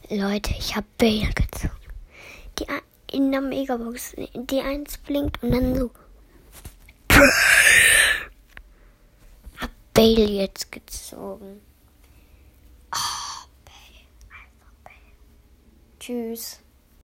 Leute, ich habe Bale gezogen. In der Megabox. Die 1 blinkt und dann so. Hab Bale jetzt gezogen. Oh, Bale. Einfach Bale. Tschüss.